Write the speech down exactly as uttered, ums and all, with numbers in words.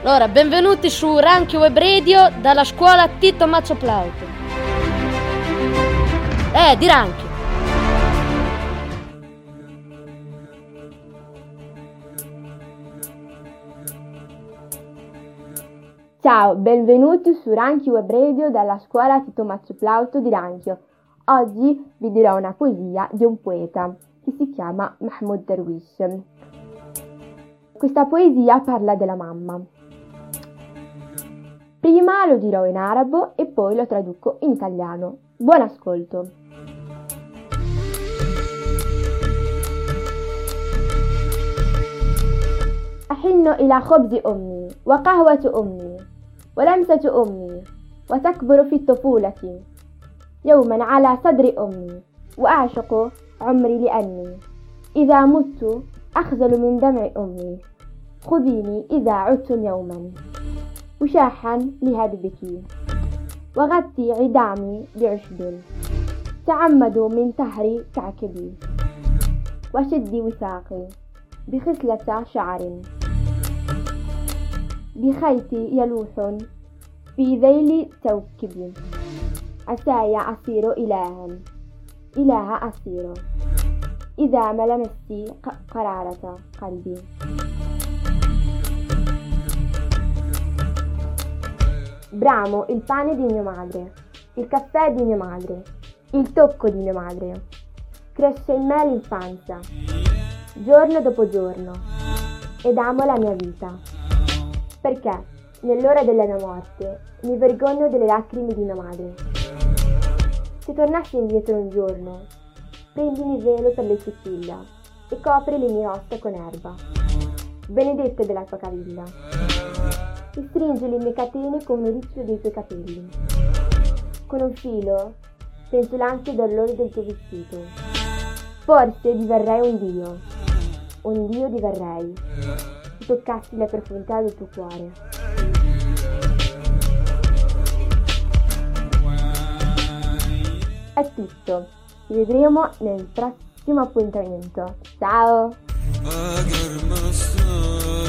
Allora, benvenuti su Ranchi Web Radio dalla scuola Tito Mazzo Plauto. Eh, di Ranchi. Ciao, benvenuti su Ranchi Web Radio dalla scuola Tito Mazzo Plauto di Ranchio. Oggi vi dirò una poesia di un poeta che si chiama Mahmoud Darwish. Questa poesia parla della mamma. Prima lo dirò in arabo e poi lo traduco in italiano. Buon ascolto! أحن إلى خبز أمي وقهوة أمي ولمسة أمي وتكبر في الطفولة يوما على صدر أمي وأعشق عمري لأني إذا مت أخجل من دمع أمي خذيني إذا عدتم يوما وشاحا لهدبك وغطي عدامي بعشب تعمدوا من تهري كعكبي وشدي وثاقي بخصلة شعر بخيتي يلوح في ذيل توكبي عساي أصير إلها إله أصير إذا ما لمستي قرارة قلبي. Bramo il pane di mia madre, il caffè di mia madre, il tocco di mia madre. Cresce in me l'infanzia, giorno dopo giorno, ed amo la mia vita, perché nell'ora della mia morte mi vergogno delle lacrime di mia madre. Se tornassi indietro un giorno, prendimi velo per le ciciglia e copri le mie ossa con erba, benedetta della tua caviglia, e stringi le mie catene con un riccio dei tuoi capelli. Con un filo sento l'ansia d'alloro del tuo vestito. Forse diverrei un dio, un dio diverrei, se toccassi la profondità del tuo cuore. È tutto, ci vedremo nel prossimo appuntamento. Ciao!